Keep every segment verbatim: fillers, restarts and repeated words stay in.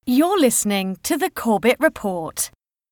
You're listening to the Corbett Report.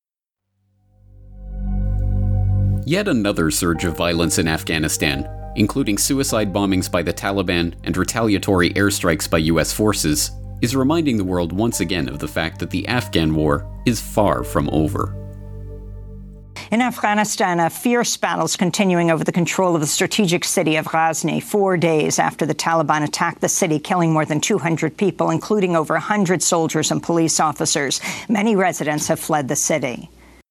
Yet another surge of violence in Afghanistan, including suicide bombings by the Taliban and retaliatory airstrikes by U S forces, is reminding the world once again of the fact that the Afghan war is far from over. In Afghanistan, a fierce battle is continuing over the control of the strategic city of Ghazni, four days after the Taliban attacked the city, killing more than two hundred people, including over one hundred soldiers and police officers. Many residents have fled the city.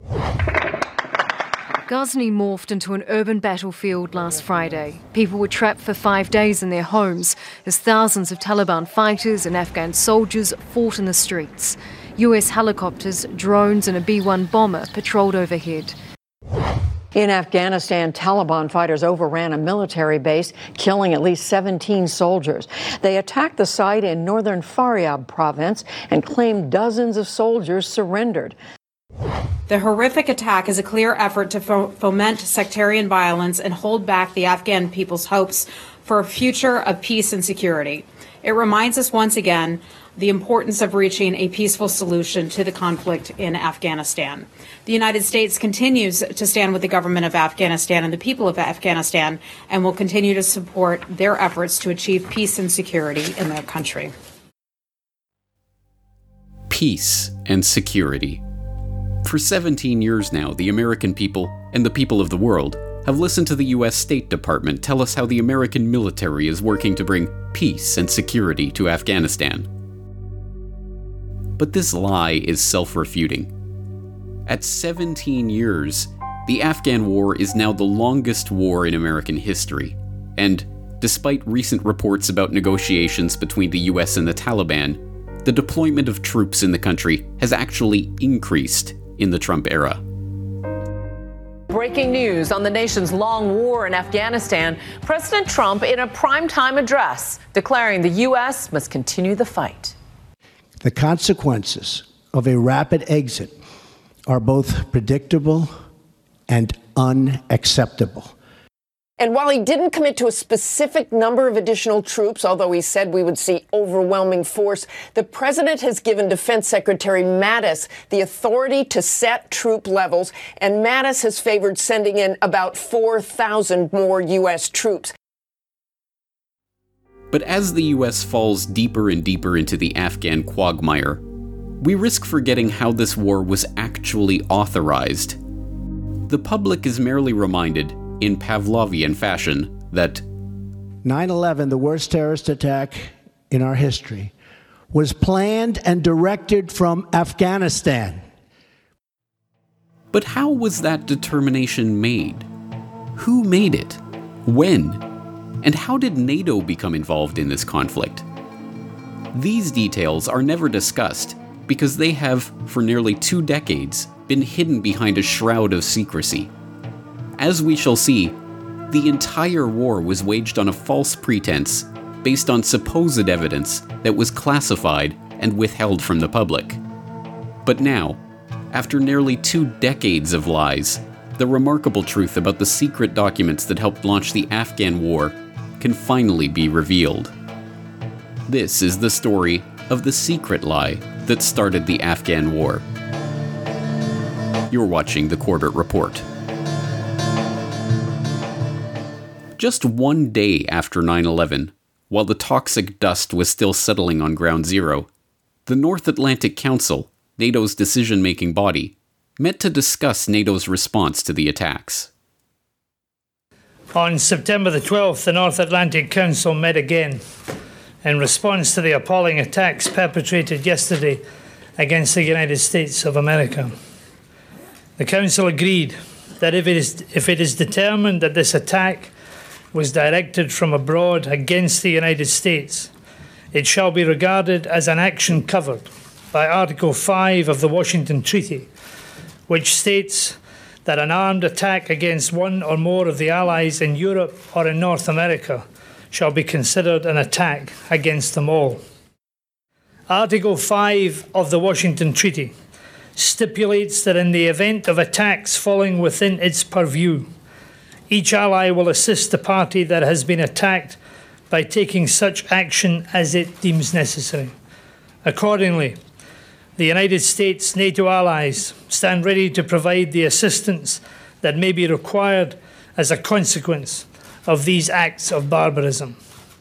Ghazni morphed into an urban battlefield last Friday. People were trapped for five days in their homes as thousands of Taliban fighters and Afghan soldiers fought in the streets. U S helicopters, drones and a B one bomber patrolled overhead. In Afghanistan, Taliban fighters overran a military base, killing at least seventeen soldiers. They attacked the site in northern Faryab province and claimed dozens of soldiers surrendered. The horrific attack is a clear effort to fo- foment sectarian violence and hold back the Afghan people's hopes for a future of peace and security. It reminds us once again the importance of reaching a peaceful solution to the conflict in Afghanistan. The United States continues to stand with the government of Afghanistan and the people of Afghanistan and will continue to support their efforts to achieve peace and security in their country. Peace and security. For seventeen years now, the American people and the people of the world have listened to the U S State Department tell us how the American military is working to bring peace and security to Afghanistan. But this lie is self-refuting. At seventeen years, the Afghan war is now the longest war in American history, and despite recent reports about negotiations between the U S and the Taliban, the deployment of troops in the country has actually increased in the Trump era. Breaking news on the nation's long war in Afghanistan. President Trump in a primetime address declaring the U S must continue the fight. The consequences of a rapid exit are both predictable and unacceptable. And while he didn't commit to a specific number of additional troops, although he said we would see overwhelming force, the president has given Defense Secretary Mattis the authority to set troop levels, and Mattis has favored sending in about four thousand more U S troops. But as the U S falls deeper and deeper into the Afghan quagmire, we risk forgetting how this war was actually authorized. The public is merely reminded, in Pavlovian fashion, that nine eleven, the worst terrorist attack in our history, was planned and directed from Afghanistan. But how was that determination made? Who made it? When? And how did NATO become involved in this conflict? These details are never discussed because they have, for nearly two decades, been hidden behind a shroud of secrecy. As we shall see, the entire war was waged on a false pretense based on supposed evidence that was classified and withheld from the public. But now, after nearly two decades of lies, the remarkable truth about the secret documents that helped launch the Afghan war can finally be revealed. This is the story of the secret lie that started the Afghan war. You're watching the Corbett Report. Just one day after nine eleven, while the toxic dust was still settling on Ground Zero, the North Atlantic Council, NATO's decision-making body, met to discuss NATO's response to the attacks. On September the twelfth, the North Atlantic Council met again in response to the appalling attacks perpetrated yesterday against the United States of America. The Council agreed that if it is, if it is determined that this attack was directed from abroad against the United States, it shall be regarded as an action covered by Article five of the Washington Treaty, which states that an armed attack against one or more of the allies in Europe or in North America shall be considered an attack against them all. Article five of the Washington Treaty stipulates that in the event of attacks falling within its purview, each ally will assist the party that has been attacked by taking such action as it deems necessary. Accordingly, The United States, NATO allies stand ready to provide the assistance that may be required as a consequence of these acts of barbarism.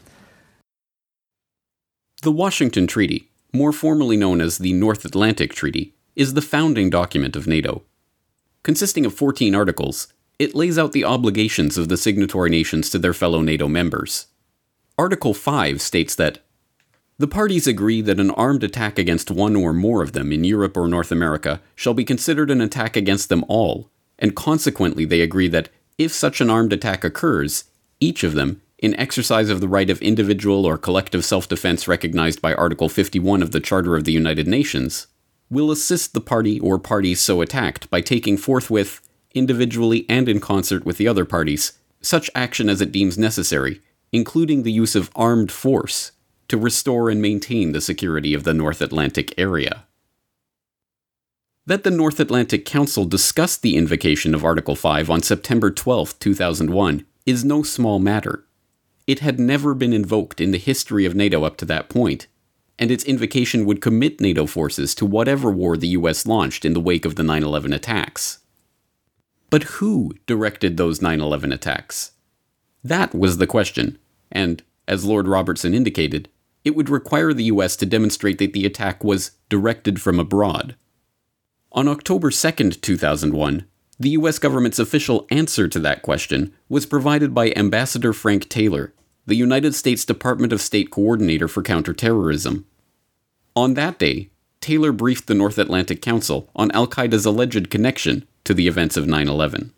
The Washington Treaty, more formally known as the North Atlantic Treaty, is the founding document of NATO. Consisting of fourteen articles, it lays out the obligations of the signatory nations to their fellow NATO members. Article five states that the parties agree that an armed attack against one or more of them in Europe or North America shall be considered an attack against them all, and consequently they agree that if such an armed attack occurs, each of them, in exercise of the right of individual or collective self-defense recognized by Article fifty-one of the Charter of the United Nations, will assist the party or parties so attacked by taking forthwith, individually and in concert with the other parties, such action as it deems necessary, including the use of armed force, to restore and maintain the security of the North Atlantic area. That the North Atlantic Council discussed the invocation of Article five on September twelfth, two thousand one, is no small matter. It had never been invoked in the history of NATO up to that point, and its invocation would commit NATO forces to whatever war the U S launched in the wake of the nine eleven attacks. But who directed those nine eleven attacks? That was the question, and, as Lord Robertson indicated, it would require the U S to demonstrate that the attack was directed from abroad. On October second, two thousand one, the U S government's official answer to that question was provided by Ambassador Frank Taylor, the United States Department of State Coordinator for Counterterrorism. On that day, Taylor briefed the North Atlantic Council on al-Qaeda's alleged connection to the events of nine eleven.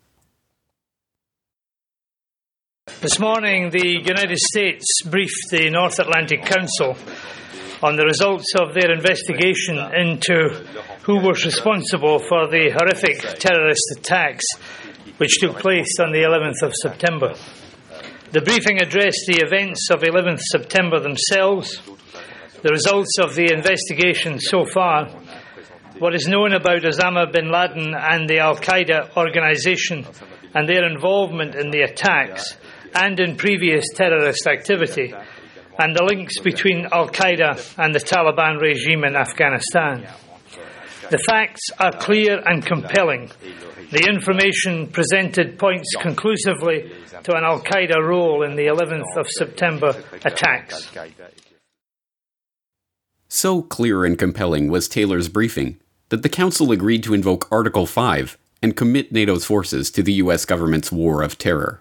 This morning, the United States briefed the North Atlantic Council on the results of their investigation into who was responsible for the horrific terrorist attacks which took place on the eleventh of September. The briefing addressed the events of eleventh September themselves, the results of the investigation so far, what is known about Osama bin Laden and the al-Qaeda organization and their involvement in the attacks and in previous terrorist activity, and the links between al-Qaeda and the Taliban regime in Afghanistan. The facts are clear and compelling. The information presented points conclusively to an al-Qaeda role in the eleventh of September attacks. So clear and compelling was Taylor's briefing that the Council agreed to invoke Article five and commit NATO's forces to the U S government's war of terror.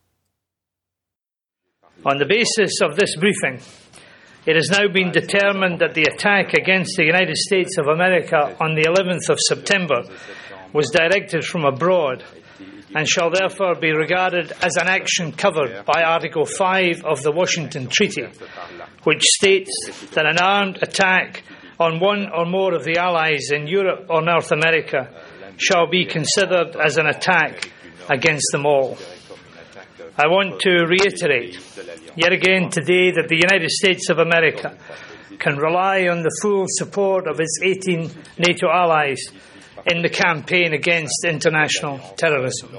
On the basis of this briefing, it has now been determined that the attack against the United States of America on the eleventh of September was directed from abroad and shall therefore be regarded as an action covered by Article five of the Washington Treaty, which states that an armed attack on one or more of the allies in Europe or North America shall be considered as an attack against them all. I want to reiterate yet again today that the United States of America can rely on the full support of its eighteen NATO allies in the campaign against international terrorism.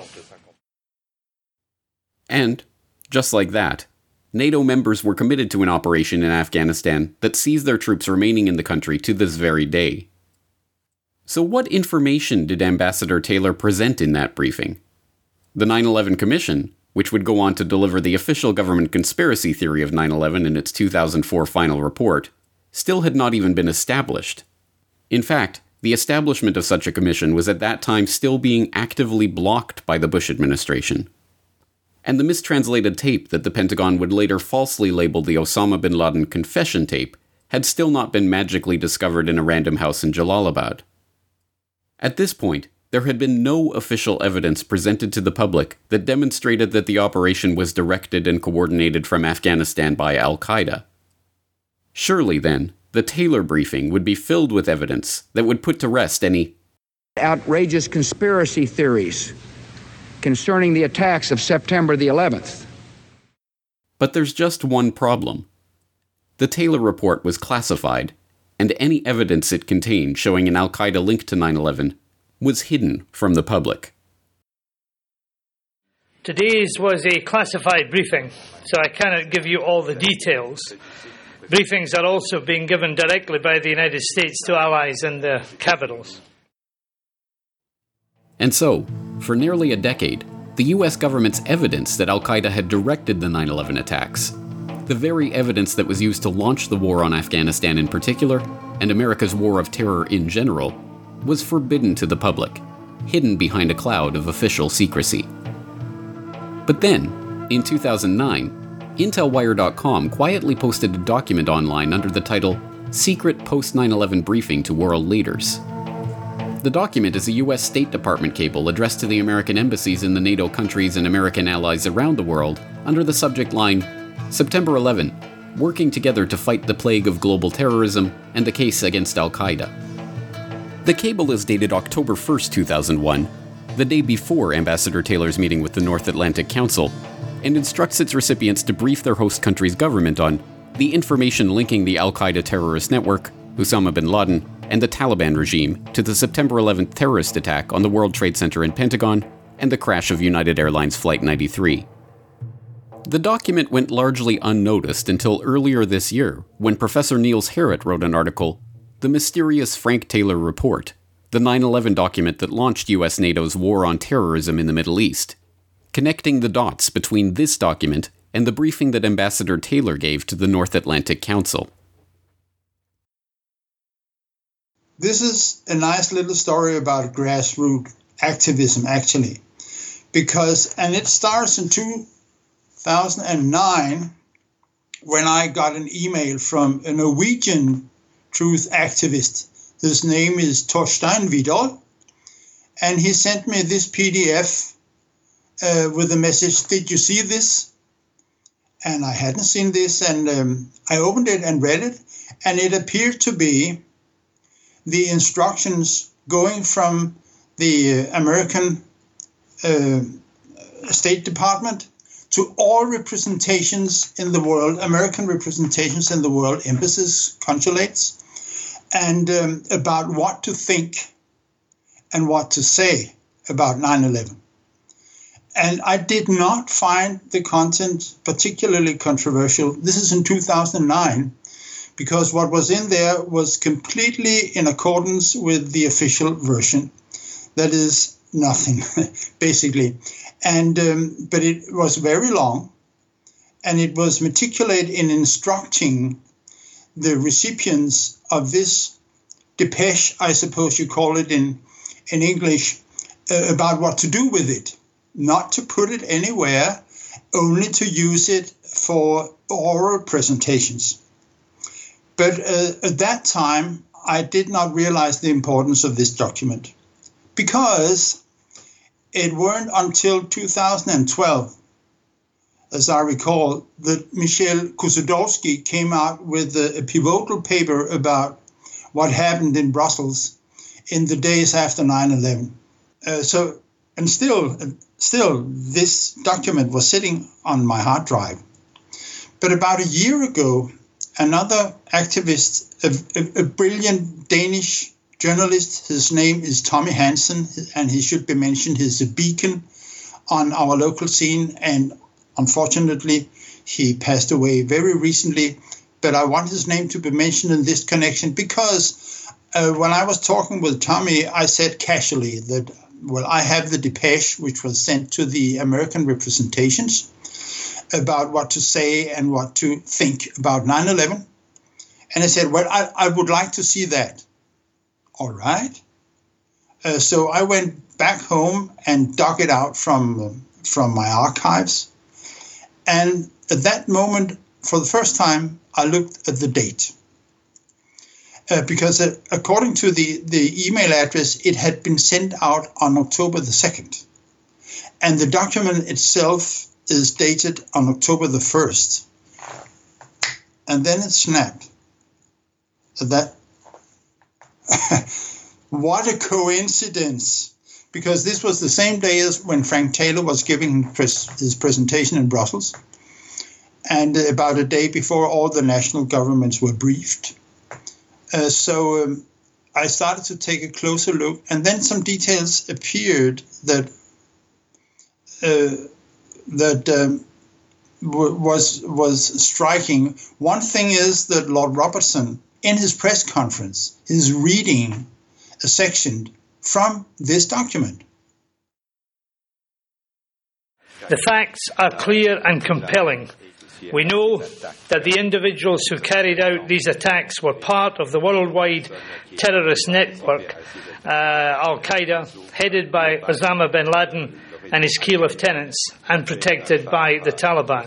And, just like that, NATO members were committed to an operation in Afghanistan that sees their troops remaining in the country to this very day. So what information did Ambassador Taylor present in that briefing? The nine eleven Commission, which would go on to deliver the official government conspiracy theory of nine eleven in its two thousand four final report, still had not even been established. In fact, the establishment of such a commission was at that time still being actively blocked by the Bush administration. And the mistranslated tape that the Pentagon would later falsely label the Osama bin Laden confession tape had still not been magically discovered in a random house in Jalalabad. At this point, there had been no official evidence presented to the public that demonstrated that the operation was directed and coordinated from Afghanistan by al-Qaeda. Surely, then, the Taylor briefing would be filled with evidence that would put to rest any outrageous conspiracy theories concerning the attacks of September the eleventh. But there's just one problem. The Taylor report was classified, and any evidence it contained showing an al-Qaeda link to nine eleven was hidden from the public. Today's was a classified briefing, so I cannot give you all the details. Briefings are also being given directly by the United States to allies in their capitals. And so, for nearly a decade, the U S government's evidence that al-Qaeda had directed the nine eleven attacks, the very evidence that was used to launch the war on Afghanistan in particular, and America's war of terror in general, was forbidden to the public, hidden behind a cloud of official secrecy. But then, in two thousand nine, Intel Wire dot com quietly posted a document online under the title Secret Post nine eleven Briefing to World Leaders. The document is a U S State Department cable addressed to the American embassies in the NATO countries and American allies around the world under the subject line, September eleventh, working together to fight the plague of global terrorism and the case against al-Qaeda. The cable is dated October first, two thousand one, the day before Ambassador Taylor's meeting with the North Atlantic Council, and instructs its recipients to brief their host country's government on the information linking the al-Qaeda terrorist network, Osama bin Laden, and the Taliban regime to the September eleventh terrorist attack on the World Trade Center and Pentagon and the crash of United Airlines Flight ninety-three. The document went largely unnoticed until earlier this year, when Professor Niels Harrit wrote an article, The Mysterious Frank Taylor Report, the nine eleven document that launched U S NATO's war on terrorism in the Middle East, connecting the dots between this document and the briefing that Ambassador Taylor gave to the North Atlantic Council. This is a nice little story about grassroots activism, actually, because, and it starts in two thousand nine when I got an email from a Norwegian truth activist. His name is Torstein Vidal, and he sent me this P D F uh, with a message, did you see this? And I hadn't seen this, and um, I opened it and read it, and it appeared to be the instructions going from the American uh, State Department to all representations in the world, American representations in the world, embassies, consulates, and um, about what to think and what to say about nine eleven. And I did not find the content particularly controversial. This is in two thousand nine. Because what was in there was completely in accordance with the official version. That is nothing, basically. And um, but it was very long, and it was meticulous in instructing the recipients of this depeche, I suppose you call it in, in English, uh, about what to do with it. Not to put it anywhere, only to use it for oral presentations. But uh, at that time, I did not realize the importance of this document, because it weren't until two thousand twelve, as I recall, that Michel Kusodowski came out with a, a pivotal paper about what happened in Brussels in the days after nine eleven. Uh, so, and still, still, this document was sitting on my hard drive. But about a year ago, another activist, a, a, a brilliant Danish journalist, his name is Tommy Hansen, and he should be mentioned. He's a beacon on our local scene, and unfortunately, he passed away very recently. But I want his name to be mentioned in this connection because uh, when I was talking with Tommy, I said casually that, well, I have the depeche which was sent to the American representations about what to say and what to think about nine eleven. And I said, well, I, I would like to see that. All right. Uh, so I went back home and dug it out from, from my archives. And at that moment, for the first time, I looked at the date. Uh, because uh, according to the, the email address, it had been sent out on October the second. And the document itself is dated on October the first. And then it snapped. That, what a coincidence. Because this was the same day as when Frank Taylor was giving his presentation in Brussels. And about a day before all the national governments were briefed. Uh, so um, I started to take a closer look. And then some details appeared that... Uh, that um, was was striking. One thing is that Lord Robertson, in his press conference, is reading a section from this document. The facts are clear and compelling. We know that the individuals who carried out these attacks were part of the worldwide terrorist network, uh, Al-Qaeda, headed by Osama bin Laden and his key lieutenants, and protected by the Taliban.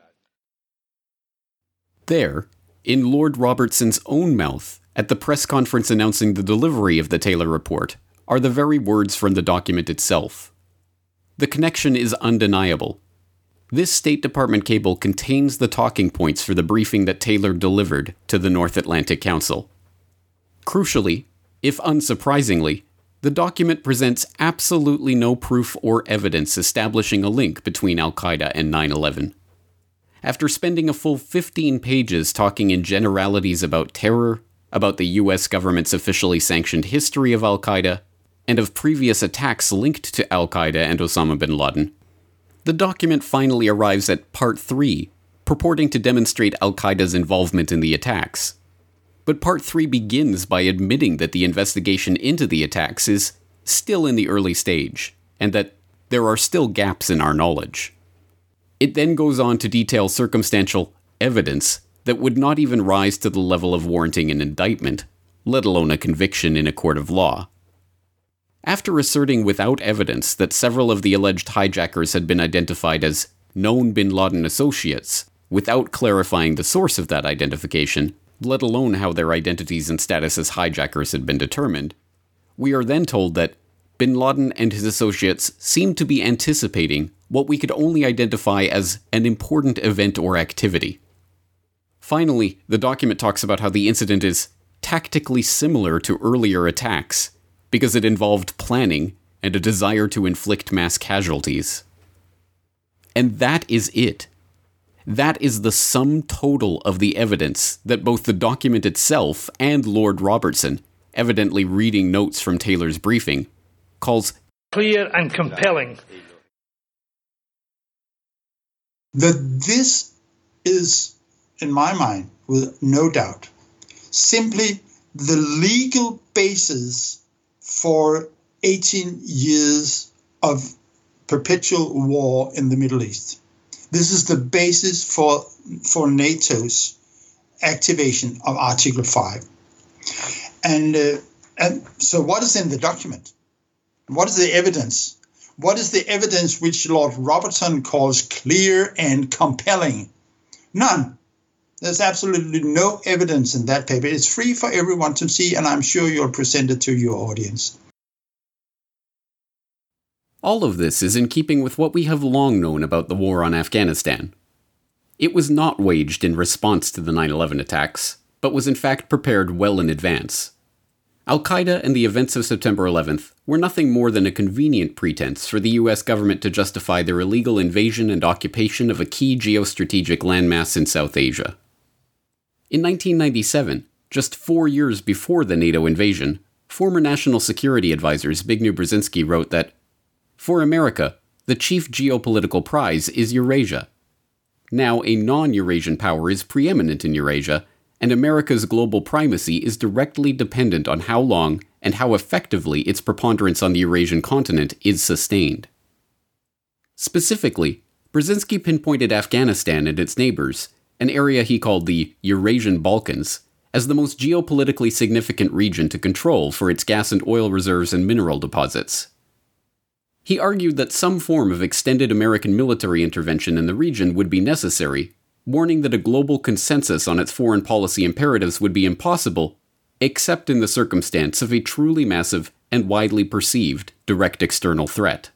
There, in Lord Robertson's own mouth, at the press conference announcing the delivery of the Taylor report, are the very words from the document itself. The connection is undeniable. This State Department cable contains the talking points for the briefing that Taylor delivered to the North Atlantic Council. Crucially, if unsurprisingly, the document presents absolutely no proof or evidence establishing a link between Al-Qaeda and nine eleven. After spending a full fifteen pages talking in generalities about terror, about the U S government's officially sanctioned history of Al-Qaeda, and of previous attacks linked to Al-Qaeda and Osama bin Laden, the document finally arrives at Part three, purporting to demonstrate Al-Qaeda's involvement in the attacks. But Part three begins by admitting that the investigation into the attacks is still in the early stage, and that there are still gaps in our knowledge. It then goes on to detail circumstantial evidence that would not even rise to the level of warranting an indictment, let alone a conviction in a court of law. After asserting without evidence that several of the alleged hijackers had been identified as known bin Laden associates, without clarifying the source of that identification, let alone how their identities and status as hijackers had been determined, we are then told that bin Laden and his associates seemed to be anticipating what we could only identify as an important event or activity. Finally, the document talks about how the incident is tactically similar to earlier attacks, because it involved planning and a desire to inflict mass casualties. And that is it. That is the sum total of the evidence that both the document itself and Lord Robertson, evidently reading notes from Taylor's briefing, calls clear and compelling. That this is, in my mind, with no doubt, simply the legal basis for eighteen years of perpetual war in the Middle East. This is the basis for, for NATO's activation of Article five. And, uh, and so what is in the document? What is the evidence? What is the evidence which Lord Robertson calls clear and compelling? None. There's absolutely no evidence in that paper. It's free for everyone to see, and I'm sure you'll present it to your audience. All of this is in keeping with what we have long known about the war on Afghanistan. It was not waged in response to the nine eleven attacks, but was in fact prepared well in advance. Al-Qaeda and the events of September eleventh were nothing more than a convenient pretense for the U S government to justify their illegal invasion and occupation of a key geostrategic landmass in South Asia. In nineteen ninety-seven, just four years before the NATO invasion, former National Security Advisor Zbigniew Brzezinski wrote that, "For America, the chief geopolitical prize is Eurasia. Now a non-Eurasian power is preeminent in Eurasia, and America's global primacy is directly dependent on how long and how effectively its preponderance on the Eurasian continent is sustained." Specifically, Brzezinski pinpointed Afghanistan and its neighbors, an area he called the Eurasian Balkans, as the most geopolitically significant region to control for its gas and oil reserves and mineral deposits. He argued that some form of extended American military intervention in the region would be necessary, warning that a global consensus on its foreign policy imperatives would be impossible, except in the circumstance of a truly massive and widely perceived direct external threat.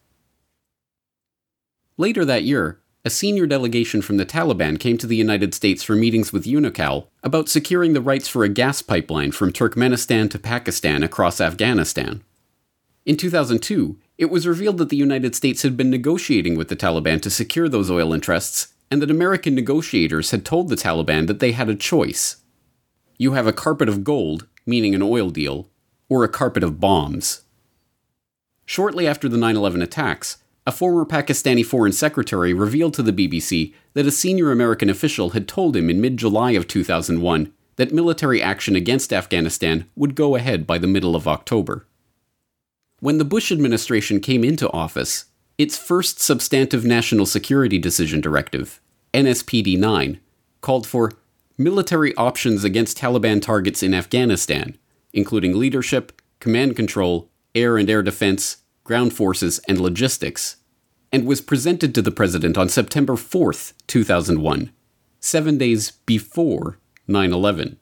Later that year, a senior delegation from the Taliban came to the United States for meetings with UNICAL about securing the rights for a gas pipeline from Turkmenistan to Pakistan across Afghanistan. In two thousand two, it was revealed that the United States had been negotiating with the Taliban to secure those oil interests, and that American negotiators had told the Taliban that they had a choice. You have a carpet of gold, meaning an oil deal, or a carpet of bombs. Shortly after the nine eleven attacks, A former Pakistani foreign secretary revealed to the B B C that a senior American official had told him in mid-July of two thousand one that military action against Afghanistan would go ahead by the middle of October. When the Bush administration came into office, its first substantive national security decision directive, N S P D nine, called for military options against Taliban targets in Afghanistan, including leadership, command control, air and air defense, ground forces, and logistics, and was presented to the president on September fourth, two thousand one, seven days before nine eleven.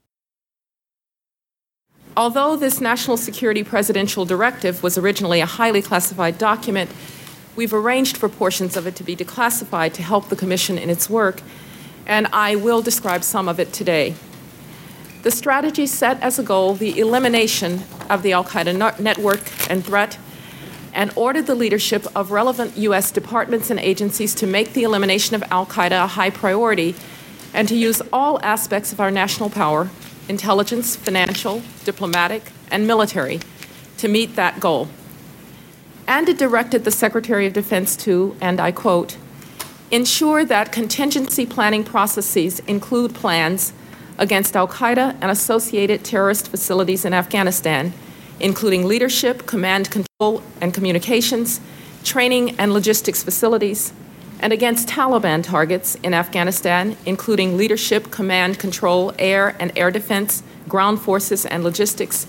Although this national security presidential directive was originally a highly classified document, we've arranged for portions of it to be declassified to help the Commission in its work, and I will describe some of it today. The strategy set as a goal the elimination of the al-Qaeda network and threat, and ordered the leadership of relevant U S departments and agencies to make the elimination of al-Qaeda a high priority and to use all aspects of our national power, intelligence, financial, diplomatic, and military, to meet that goal. And it directed the Secretary of Defense to, and I quote, ensure that contingency planning processes include plans against al-Qaeda and associated terrorist facilities in Afghanistan, including leadership, command control and communications, training and logistics facilities, and against Taliban targets in Afghanistan, including leadership, command control, air and air defense, ground forces, and logistics.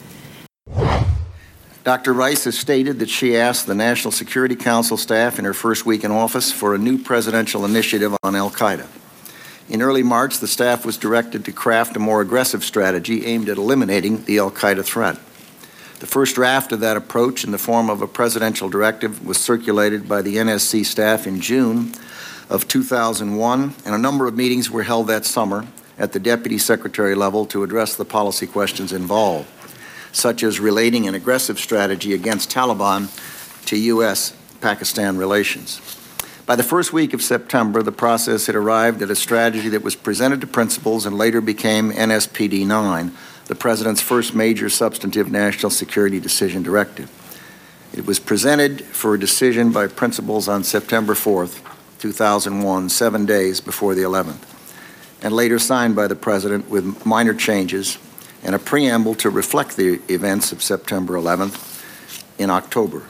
Doctor Rice has stated that she asked the National Security Council staff in her first week in office for a new presidential initiative on al-Qaeda. In early March, the staff was directed to craft a more aggressive strategy aimed at eliminating the al-Qaeda threat. The first draft of that approach in the form of a presidential directive was circulated by the N S C staff in June of two thousand one, and a number of meetings were held that summer at the Deputy Secretary level to address the policy questions involved, such as relating an aggressive strategy against Taliban to U S Pakistan relations. By the first week of September, the process had arrived at a strategy that was presented to principals and later became N S P D nine, the President's first major substantive national security decision directive. It was presented for a decision by principals on September fourth, two thousand one, seven days before the eleventh, and later signed by the President with minor changes and a preamble to reflect the events of September eleventh in October.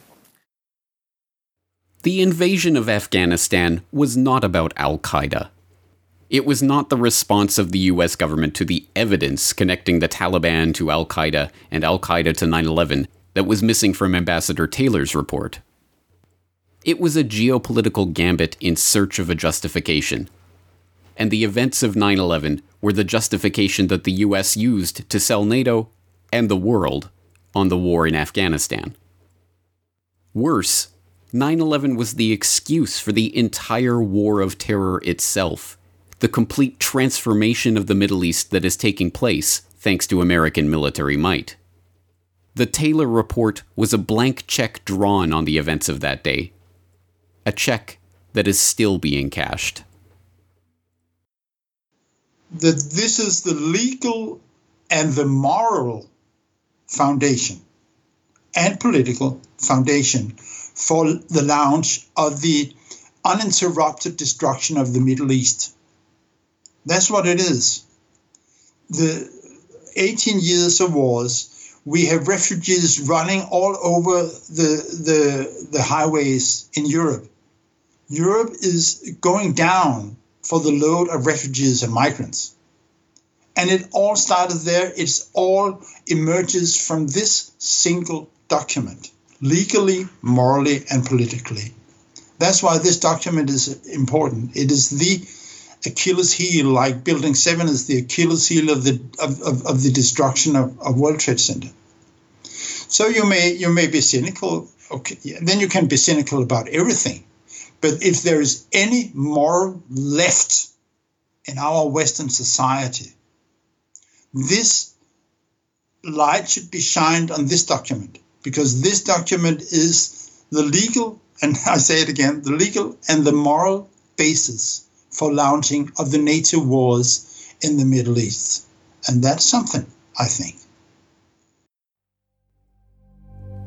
The invasion of Afghanistan was not about al-Qaeda. It was not the response of the U S government to the evidence connecting the Taliban to al-Qaeda and al-Qaeda to nine eleven that was missing from Ambassador Taylor's report. It was a geopolitical gambit in search of a justification. And the events of nine eleven were the justification that the U S used to sell NATO and the world on the war in Afghanistan. Worse, nine eleven was the excuse for the entire war of terror itself, the complete transformation of the Middle East that is taking place thanks to American military might. The Taylor report was a blank check drawn on the events of that day, a check that is still being cashed. That this is the legal and the moral foundation and political foundation for the launch of the uninterrupted destruction of the Middle East. That's what it is. The eighteen years of wars, we have refugees running all over the, the, the highways in Europe. Europe is going down for the load of refugees and migrants. And it all started there. It's all emerges from this single document, legally, morally, and politically. That's why this document is important. It is the Achilles heel, like Building seven is the Achilles heel of the of, of, of the destruction of, of World Trade Center. So you may you may be cynical. Okay, then you can be cynical about everything. But if there is any moral left in our Western society, this light should be shined on this document, because this document is the legal, and I say it again, the legal and the moral basis for launching of the NATO wars in the Middle East. And that's something, I think.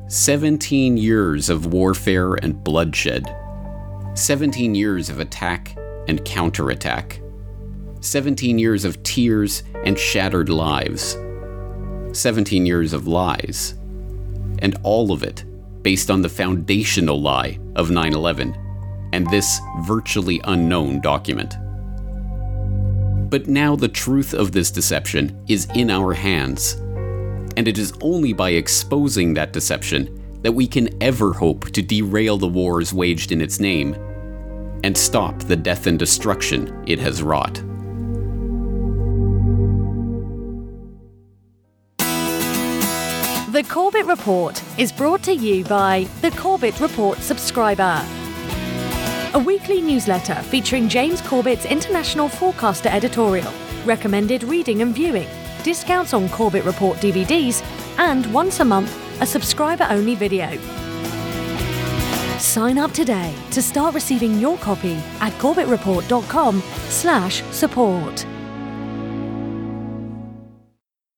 seventeen years of warfare and bloodshed. seventeen years of attack and counterattack. seventeen years of tears and shattered lives. seventeen years of lies. And all of it based on the foundational lie of nine eleven and this virtually unknown document. But now the truth of this deception is in our hands, and it is only by exposing that deception that we can ever hope to derail the wars waged in its name and stop the death and destruction it has wrought. The Corbett Report is brought to you by the Corbett Report subscriber, a weekly newsletter featuring James Corbett's International Forecaster editorial, recommended reading and viewing, discounts on Corbett Report D V Ds, and once a month, a subscriber-only video. Sign up today to start receiving your copy at corbettreport dot com slash support.